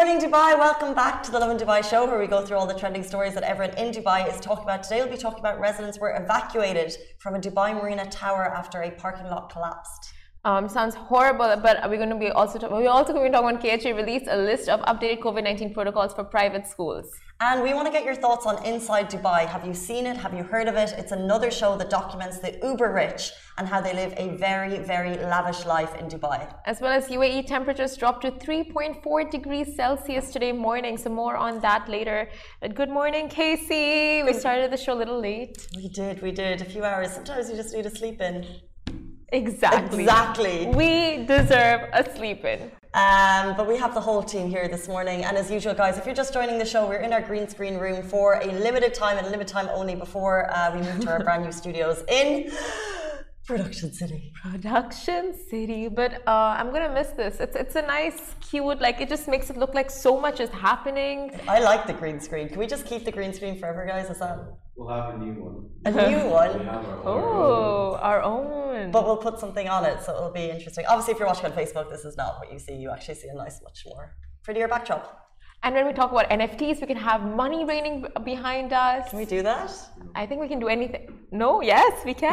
morning, Dubai. Welcome back to the Lovin Dubai show, where we go through all the trending stories that everyone in Dubai is talking about. Today, we'll be talking about residents were evacuated from a Dubai Marina tower after a parking lot collapsed. Sounds horrible, but we're going to be also going to talk about KHA released a list of updated COVID-19 protocols for private schools. And we want to get your thoughts on Inside Dubai. Have you seen it? Have you heard of it? It's another show that documents the uber rich and how they live a very, very lavish life in Dubai. As well as UAE temperatures dropped to 3.4 degrees Celsius today morning. So more on that later. But good morning, Casey. We started the show a little late. We did. A few hours. Sometimes you just need to sleep in. Exactly. We deserve a sleep in. But we have the whole team here this morning. And as usual, guys, if you're just joining the show, we're in our green screen room for a limited time and a limited time only before we move to our brand new studios in Production City. But I'm gonna miss this. It's a nice, cute, like it just makes it look like so much is happening. I like the green screen. Can we just keep the green screen forever, guys? Is that? We'll have a new one. A new one? We have our own. But we'll put something on it, so it'll be interesting. Obviously, if you're watching on Facebook, this is not what you see. You actually see a nice, much more prettier backdrop. And when we talk about NFTs, we can have money raining behind us. Can we do that? I think we can do anything. No, yes, we can.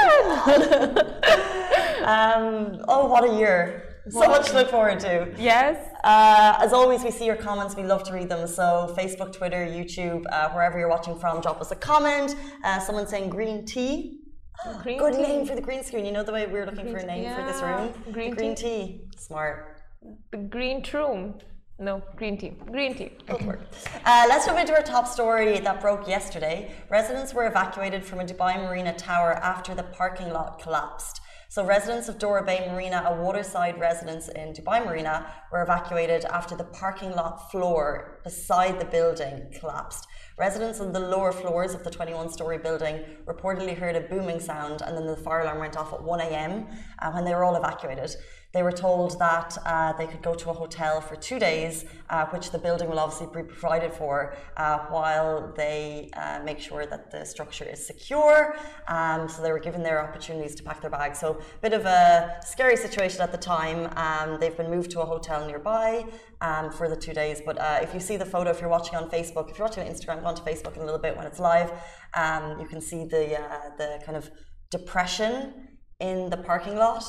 Oh, what a year. So much to look forward to. Yes. As always, we see your comments. We love to read them. So Facebook, Twitter, YouTube, wherever you're watching from, drop us a comment. Someone saying green tea. Good name for the green screen. You know the way we were looking for a name for this room? Green tea. Smart. The green room. No, green tea. Green tea. Okay. Let's jump into our top story that broke yesterday. Residents were evacuated from a Dubai Marina tower after the parking lot collapsed. So residents of Dora Bay Marina, a waterside residence in Dubai Marina, were evacuated after the parking lot floor beside the building collapsed. Residents on the lower floors of the 21-story building reportedly heard a booming sound, and then the fire alarm went off at 1 a.m. When they were all evacuated. They were told that they could go to a hotel for 2 days, which the building will obviously be provided for while they make sure that the structure is secure. So they were given their opportunities to pack their bags. So a bit of a scary situation at the time. They've been moved to a hotel nearby for the 2 days. But if you see the photo, if you're watching on Facebook, if you're watching on Instagram, go on to Facebook in a little bit when it's live, you can see the kind of depression in the parking lot.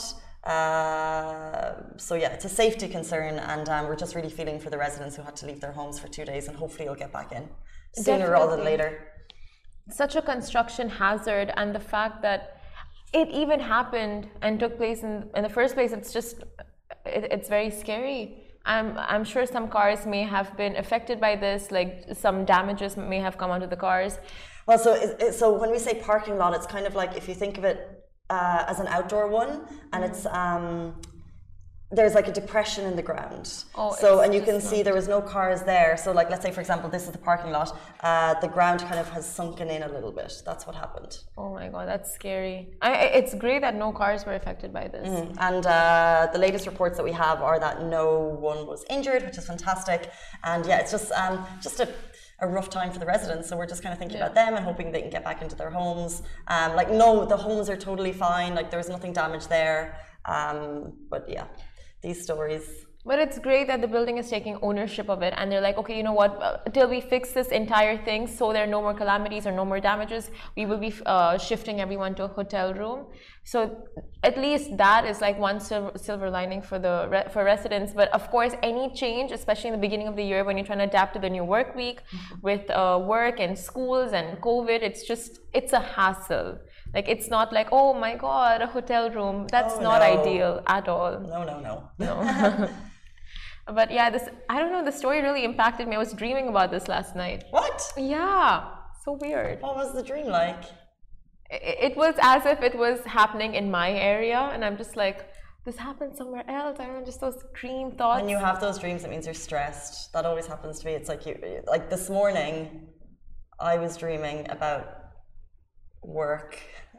So yeah, it's a safety concern, and we're just really feeling for the residents who had to leave their homes for 2 days, and hopefully you'll get back in sooner rather than later. Such a construction hazard, and the fact that it even happened and took place in the first place, it's very scary. I'm sure some cars may have been affected by this, like some damages may have come onto the cars. Well, so when we say parking lot, it's kind of like, if you think of it as an outdoor one, and it's there's like a depression in the ground. And you can see there was no cars there. So like, let's say for example, this is the parking lot. The ground kind of has sunken in a little bit. That's what happened. Oh my God, that's scary. It's great that no cars were affected by this. And the latest reports that we have are that no one was injured, which is fantastic. And yeah, it's just a rough time for the residents, so we're just kind of thinking about them and hoping they can get back into their homes. The homes are totally fine, like there's nothing damaged there. But yeah, these stories. But it's great that the building is taking ownership of it, and they're like, okay, you know what, till we fix this entire thing so there are no more calamities or no more damages, we will be shifting everyone to a hotel room. So at least that is like one silver lining for residents. But of course, any change, especially in the beginning of the year when you're trying to adapt to the new work week with work and schools and COVID, it's a hassle. Like, it's not like, oh my God, a hotel room. That's not ideal at all. No. But yeah, I don't know, the story really impacted me. I was dreaming about this last night. What? Yeah, so weird. What was the dream like? It was as if it was happening in my area, and I'm just like, this happened somewhere else. I don't know, just those dream thoughts. When you have those dreams, it means you're stressed. That always happens to me. It's like this morning, I was dreaming about work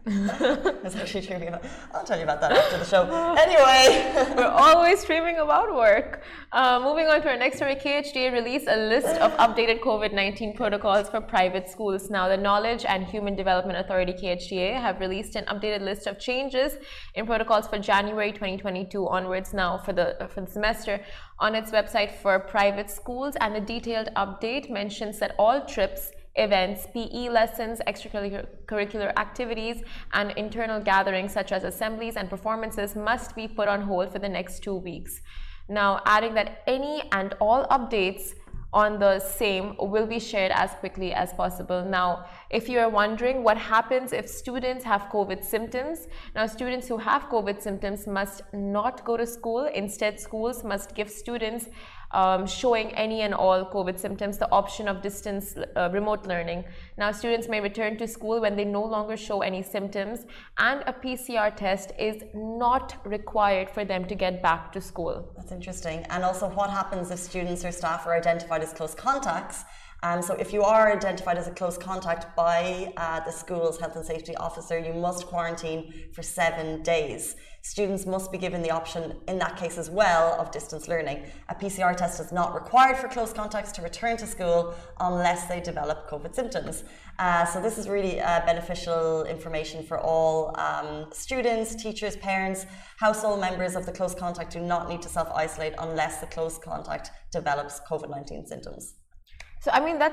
I was actually dreaming about. I'll tell you about that after the show. Anyway, we're always dreaming about work. Moving on to our next story, KHDA released a list of updated COVID-19 protocols for private schools. Now, the Knowledge and Human Development Authority (KHDA) have released an updated list of changes in protocols for January 2022 onwards. Now, for the semester, on its website for private schools, and the detailed update mentions that all trips, events, PE lessons, extracurricular activities, and internal gatherings such as assemblies and performances must be put on hold for the next 2 weeks. Now, adding that any and all updates on the same will be shared as quickly as possible. Now, if you are wondering what happens if students have COVID symptoms, now students who have COVID symptoms must not go to school. Instead, schools must give students showing any and all COVID symptoms the option of distance remote learning. Now, students may return to school when they no longer show any symptoms, and a PCR test is not required for them to get back to school. That's interesting. And also, what happens if students or staff are identified as close contacts? So if you are identified as a close contact by the school's health and safety officer, you must quarantine for 7 days. Students must be given the option in that case as well of distance learning. A PCR test is not required for close contacts to return to school unless they develop COVID symptoms. So this is really beneficial information for all students, teachers, parents. Household members of the close contact do not need to self-isolate unless the close contact develops COVID-19 symptoms. So, I mean,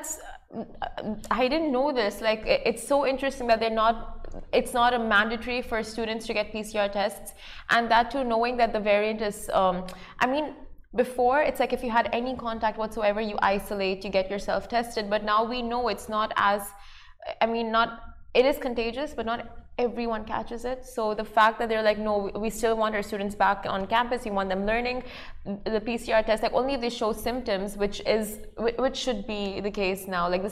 I didn't know this. Like, it's so interesting that it's not a mandatory for students to get PCR tests. And that too, knowing that the variant is, I mean, before it's like if you had any contact whatsoever, you isolate, you get yourself tested. But now we know it's not as, I mean, it is contagious, but not everyone catches it. So the fact that they're like, no, we still want our students back on campus, we want them learning, the PCR test, like only if they show symptoms, which should be the case now. Like this,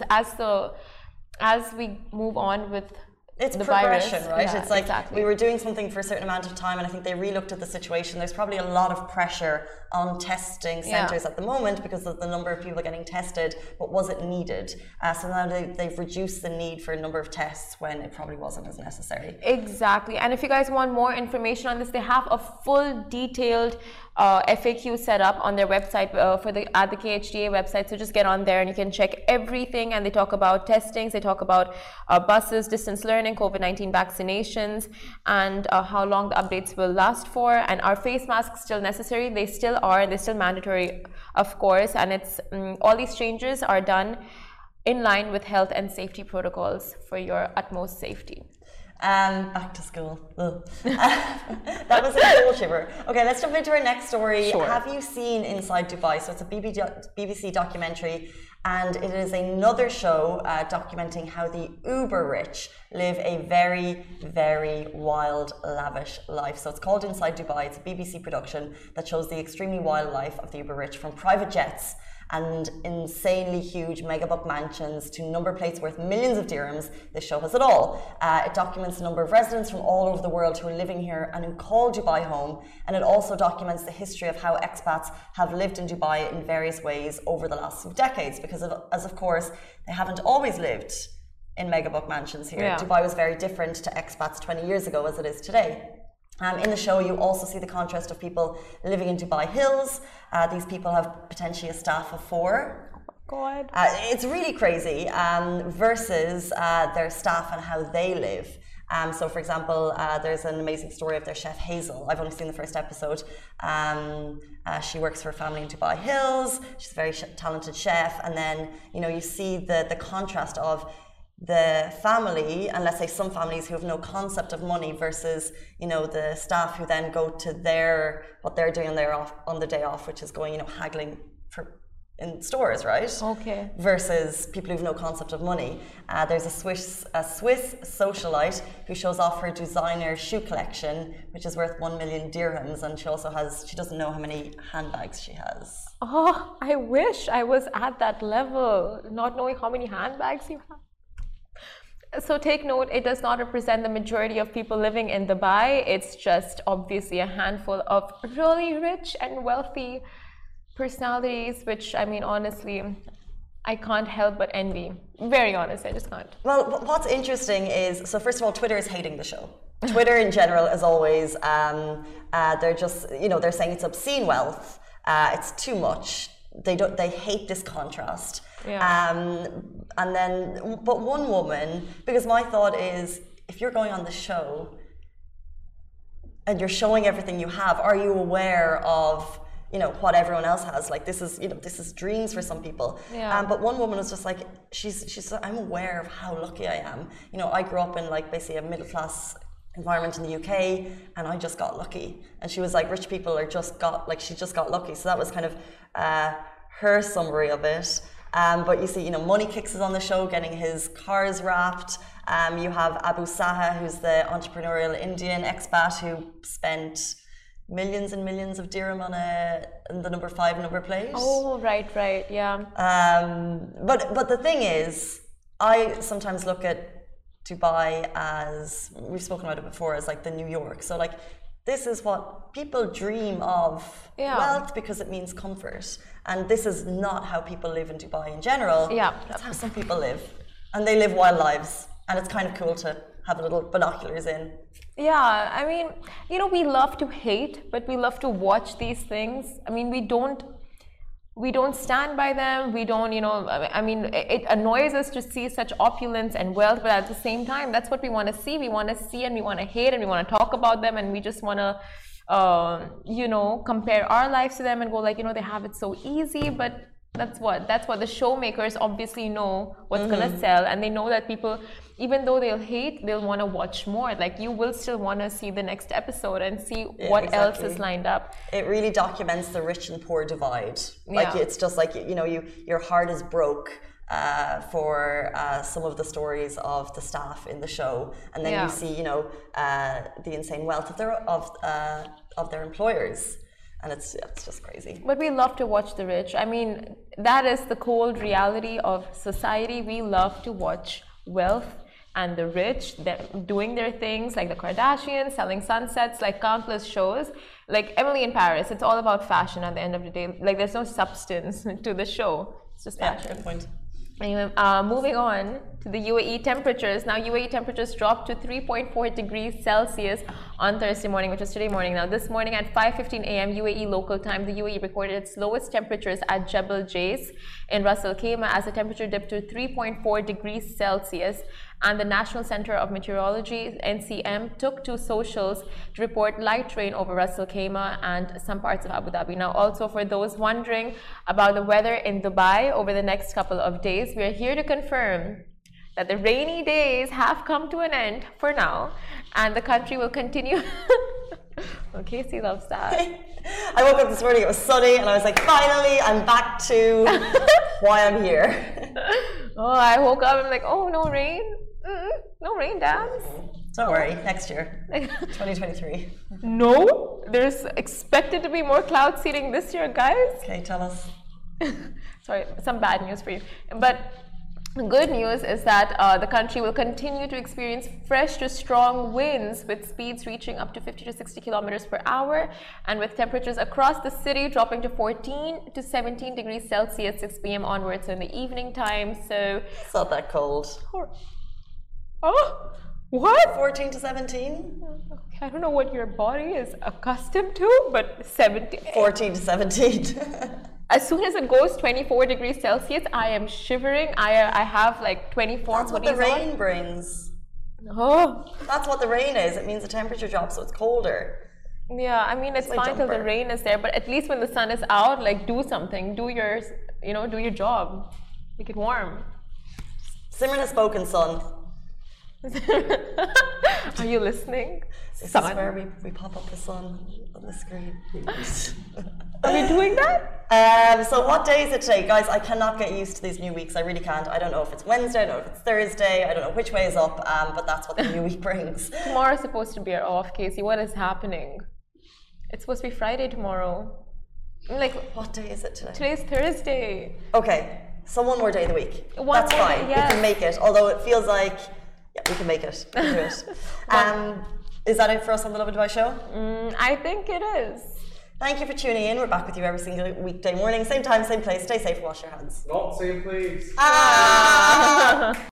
as we move on with it's the progression, virus, right? yeah, it's like exactly. We were doing something for a certain amount of time, and I think they re-looked at the situation. There's probably a lot of pressure on testing centres at the moment because of the number of people getting tested, but was it needed? So now they've reduced the need for a number of tests when it probably wasn't as necessary. Exactly. And if you guys want more information on this, they have a full detailed FAQ set up on their website at the KHDA website. So just get on there and you can check everything. And they talk about testings, they talk about buses, distance learning, COVID-19 vaccinations, and how long the updates will last for. And are face masks still necessary? They still are, and they're still mandatory, of course. And it's all these changes are done in line with health and safety protocols for your utmost safety. Back to school. That was a cool shiver. Okay, let's jump into our next story. Sure. Have you seen Inside Dubai? So it's a BBC documentary, and it is another show documenting how the uber rich live a very, very wild, lavish life. So it's called Inside Dubai. It's a BBC production that shows the extremely wild life of the uber rich, from private jets and insanely huge megabuck mansions to number plates worth millions of dirhams. This show has it all. It documents a number of residents from all over the world who are living here and who call Dubai home, and it also documents the history of how expats have lived in Dubai in various ways over the last few decades, because of course they haven't always lived in megabuck mansions here. Yeah. Dubai was very different to expats 20 years ago as it is today. In the show, you also see the contrast of people living in Dubai Hills. These people have potentially a staff of 4. Oh my God. It's really crazy, versus their staff and how they live. So, for example, there's an amazing story of their chef Hazel. I've only seen the first episode. She works for a family in Dubai Hills. She's a very talented chef. And then, you see the contrast of the family, and let's say some families who have no concept of money, versus the staff who then go to what they're doing on the day off, which is going haggling in stores, right? Okay. Versus people who have no concept of money. There's a Swiss socialite who shows off her designer shoe collection, which is worth 1 million dirhams, and she doesn't know how many handbags she has. Oh, I wish I was at that level, not knowing how many handbags you have. So take note, it does not represent the majority of people living in Dubai. It's just obviously a handful of really rich and wealthy personalities, which, I mean, honestly, I can't help but envy. Very honest, I just can't. Well, what's interesting is, so first of all, Twitter is hating the show. Twitter in general is always, they're just, they're saying it's obscene wealth. It's too much. They hate this contrast. Yeah. And then, but one woman, because my thought is, if you're going on the show and you're showing everything you have, are you aware of what everyone else has? Like this is dreams for some people. Yeah. But one woman was just like, she's I'm aware of how lucky I am. I grew up in like basically a middle class environment in the UK, and I just got lucky. And she was like, rich people she just got lucky. So that was kind of her summary of it. But you see, Money Kicks is on the show getting his cars wrapped. You have Abu Saha, who's the entrepreneurial Indian expat who spent millions and millions of dirham on the number 5 number plate. Oh, right, yeah. But the thing is, I sometimes look at Dubai as, we've spoken about it before, as like the New York. So like, this is what people dream of, wealth, because it means comfort. And this is not how people live in Dubai in general. Yeah. That's how some people live. And they live wild lives. And it's kind of cool to have little binoculars in. Yeah, I mean, we love to hate, but we love to watch these things. I mean, we don't stand by them. We don't, I mean, it annoys us to see such opulence and wealth, but at the same time, that's what we want to see. We want to see and we want to hate and we want to talk about them, and we just want to, compare our lives to them and go like, they have it so easy, but that's what the showmakers obviously know what's going to sell, and they know that people, even though they'll hate, they'll want to watch more. Like, you will still want to see the next episode and see what else is lined up. It really documents the rich and poor divide. Like, it's just like, your heart is broke for some of the stories of the staff in the show, and then you see, the insane wealth of their employers. And it's just crazy. But we love to watch the rich. I mean, that is the cold reality of society. We love to watch wealth and the rich doing their things, like the Kardashians, selling sunsets, like countless shows. Like Emily in Paris, it's all about fashion at the end of the day. Like, there's no substance to the show. It's just fashion. Good point. Anyway, moving on to the UAE temperatures. Now, UAE temperatures dropped to 3.4 degrees Celsius on Thursday morning, which is today morning. Now, this morning at 5:15 a.m. UAE local time, the UAE recorded its lowest temperatures at Jebel Jais in Ras Al Khaimah, as the temperature dipped to 3.4 degrees Celsius. And the National Center of Meteorology, NCM, took to socials to report light rain over Ras Al Khaimah and some parts of Abu Dhabi. Now, also for those wondering about the weather in Dubai over the next couple of days, we are here to confirm that the rainy days have come to an end for now, and the country will continue. Well, Casey loves that. I woke up this morning, it was sunny, and I was like, finally, I'm back to why I'm here. Oh, I woke up and I'm like, oh, no rain? No rain, Dad. Don't worry, next year, 2023. No, there's expected to be more cloud seeding this year, guys. Okay, tell us. Sorry, some bad news for you. But the good news is that the country will continue to experience fresh to strong winds, with speeds reaching up to 50 to 60 kilometers per hour, and with temperatures across the city dropping to 14 to 17 degrees Celsius 6 p.m. onwards in the evening time. So it's not that cold. Oh, what? 14 to 17? I don't know what your body is accustomed to, but 14 to 17. As soon as it goes 24 degrees Celsius, I am shivering. I have like 24 That's what the rain brings. Oh. That's what the rain is. It means the temperature drops, so it's colder. Yeah, I mean, it's fine till the rain is there, but at least when the sun is out, like, do something. Do your, do your job. Make it warm. Simran has spoken, son. Are you listening? This is where we pop up the sun on the screen. Are we doing that? So what day is it today? Guys, I cannot get used to these new weeks. I really can't. I don't know if it's Wednesday, I don't know if it's Thursday, I don't know which way is up, but that's what the new week brings. Tomorrow's supposed to be our off, Casey. What is happening? It's supposed to be Friday tomorrow. Like, what day is it today? Today's Thursday. Okay, so one more day of the week. That's more fine. Day, yes. We can make it, although it feels like, yeah, we can make it. We can do it. Is that it for us on the Lovin Dubai show? I think it is. Thank you for tuning in. We're back with you every single weekday morning, same time, same place. Stay safe, wash your hands. Not same place.